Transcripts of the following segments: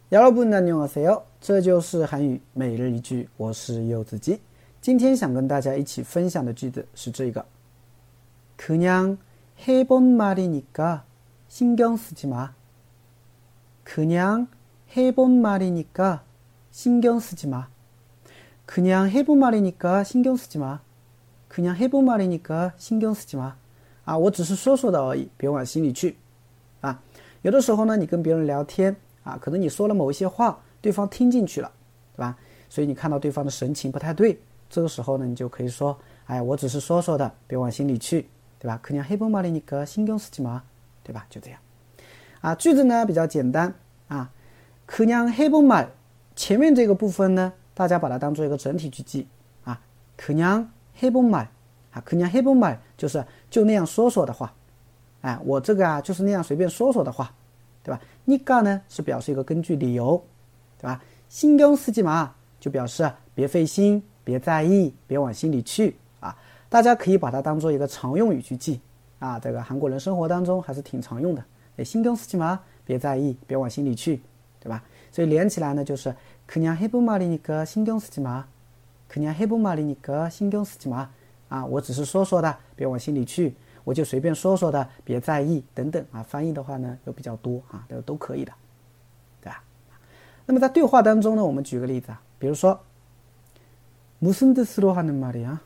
여러분 안녕하세요，这就是韩语每日一句，我是柚子鸡。今天想跟大家一起分享的句子是这个，그냥 해본 말이니까 신경 쓰지 마. 그냥 해본 말이니까 신경 쓰지 마. 그냥 해본 말이니까 신경 쓰지 마. 그냥 해본 말이니까 신경 쓰지 마. 啊，我只是说说的而已，别往心里去。啊，有的时候呢，你跟别人聊天啊，可能你说了某一些话，对方听进去了，对吧？所以你看到对方的神情不太对，这个时候呢，你就可以说，哎，我只是说说的，别往心里去，对吧？그냥 해본 말이니까 신경 쓰지 마，对吧？就这样。啊，句子呢比较简单啊，그냥 해본 말前面这个部分呢，大家把它当做一个整体去记啊，그냥 해본 말啊，그냥 해본 말就是就那样说说的话。哎，我这个啊就是那样随便说说的话，对吧？니까呢是表示一个根据理由，对吧？신경 쓰지 마就表示别费心，别在意，别往心里去啊。大家可以把它当做一个常用语去记啊，这个韩国人生活当中还是挺常用的。신경 쓰지 마别在意，别往心里去，对吧？所以连起来呢就是그냥 해본 말이니까 신경 쓰지 마. 그냥 해본 말이니까 신경 쓰지 마.啊，我只是说说的，别往心里去。我就随便说说的，别在意等等啊。翻译的话呢又比较多啊，都可以的，对吧？那么在对话当中呢，我们举个例子啊，比如说무슨 뜻으로 하는 말이야?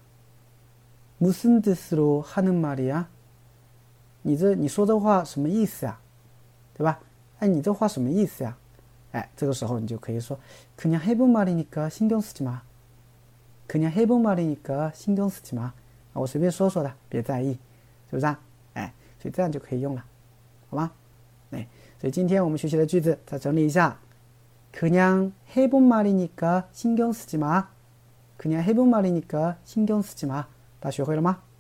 무슨 뜻으로 하는 말이야? 你说这话什么意思呀？对吧？哎，你这话什么意思呀？哎，这个时候你就可以说그냥 해본 말이니까 신경 쓰지 마. 그냥 해본 말이니까 신경 쓰지 마. 我随便说说的，别在意。是不是啊？哎，所以这样就可以用了，好吗？哎，所以今天我们学习的句子再整理一下。그냥 해본 말이니까 신경 쓰지 마. 그냥 해본 말이니까 신경 쓰지 마. 大家学会了吗？